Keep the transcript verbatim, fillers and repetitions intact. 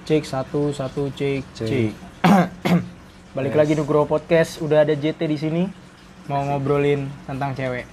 Cek satu satu cek Cek. cek. Balik Yes. lagi Nugroho Podcast, udah ada J T di sini mau ngobrolin tentang cewek.